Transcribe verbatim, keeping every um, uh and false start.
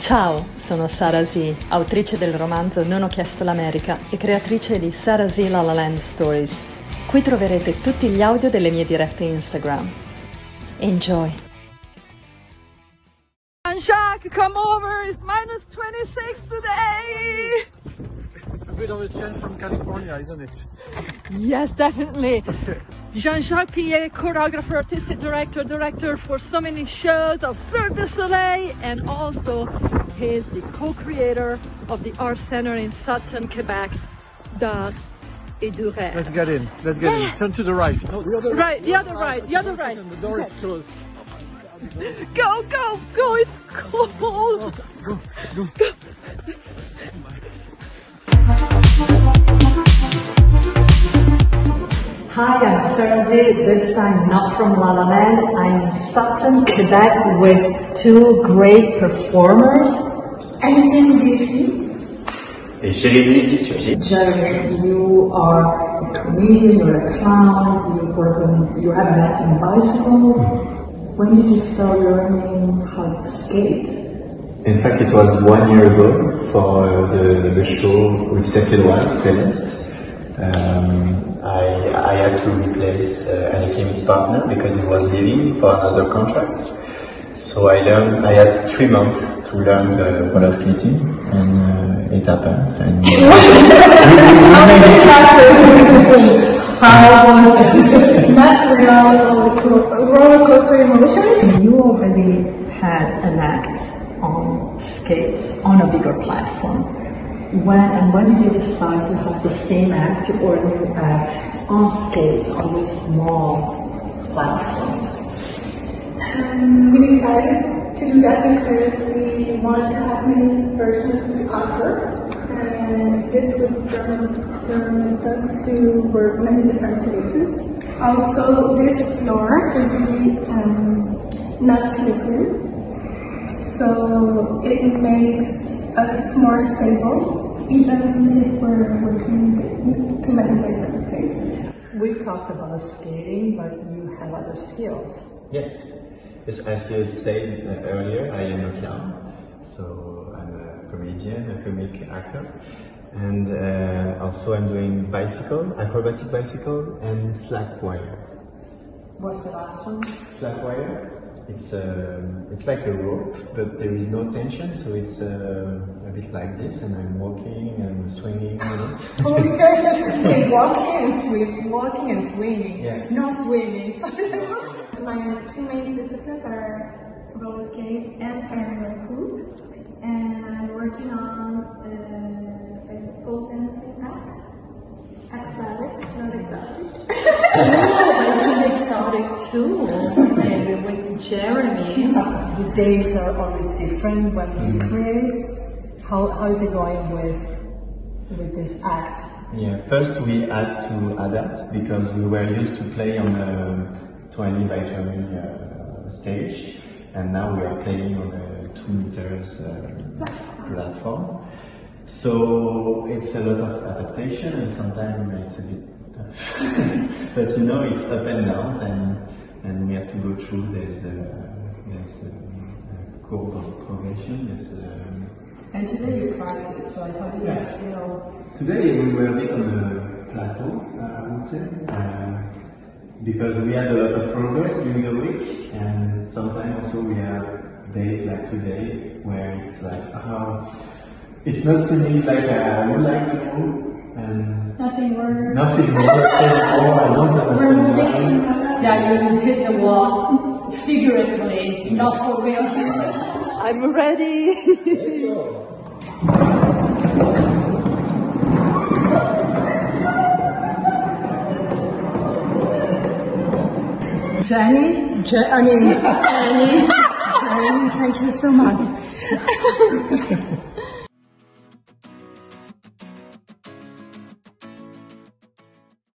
Ciao, sono Sara Z, autrice del romanzo Non ho chiesto l'America e creatrice di Sara Z La La Land Stories. Qui troverete tutti gli audio delle mie dirette Instagram. Enjoy! Jean-Jacques, come over, it's minus twenty-six today! A bit of a change from California, isn't it? Yes, definitely. Okay. Jean-Jacques Pillet, choreographer, artistic director, director for so many shows of Cirque du Soleil, and also he's the co-creator of the Art Center in Sutton, Quebec, d'Art et du Rêve. Let's get in, let's get in. Turn to the right. No, the other Right, the other right, the other right. The door is closed. Go, go, go, it's cold! Go, go, go. Hi, I'm Sara Z, this time not from La La Land. I'm in Sutton, Quebec with two great performers. Anakin Dupuis. Et Jérémy Dupuis. Jeremy, you are a comedian, you're a clown, you work on, you have an acting bicycle. When did you start learning how to skate? In fact, it was one year ago for uh, the, the show with Saint-Édouard, Celeste. Um, I, I had to replace uh, Anakin's partner because he was leaving for another contract. So I learned, I had three months to learn uh, roller skating, and uh, it happened. And, uh, How did it happen? How was it? Not real, it was roller coaster emotions. You already had an act on skates on a bigger platform. When and when did you decide to have the same act or a new act on skates on a small platform? Um, we decided to do that because we wanted to have many versions to offer, and this would permit us to work many different places. Also, this floor is really um, not slippery, so it makes us more stable, even if we're working to many different places. We talked about skating, but you have other skills. yes, yes, as you said uh, earlier, I am a clown, so I'm a comedian, a comic actor, and uh, also I'm doing bicycle, acrobatic bicycle, and slack wire. What's the last one? Slack wire. It's a, it's like a rope, but there is no tension, so it's a, a bit like this, and I'm walking and swinging on it. Okay, walking and swing, walking and swinging. Yeah. No swimming. My two main disciplines are roller skates and parallel hoop, and I'm working on uh, a pole dancing act, acrobatic, not exotic. Oh, but it can be exotic too. Maybe with Jeremy, the days are always different when we Mm. create. How how is it going with with this act? Yeah, first we had to adapt because we were used to play on a twenty by twenty uh, stage, and now we are playing on a two meters uh, platform. So it's a lot of adaptation, and sometimes it's a bit tough. But you know, it's up and downs, and and we have to go through this uh, this uh, curve of progression. This, um, And today you practice, right? How did Yeah. you feel? Today we were a bit on a plateau, uh, I would say, uh, because we had a lot of progress during the week, and sometimes also we have days like today where it's like, oh, it's not feeling like I would like to move, and Nothing works. nothing works anymore. I don't understand why. Yeah, you hit the wall figuratively, not for real. I'm ready! Let's go. Jenny, Je- I mean, Jenny, Jenny, thank you so much.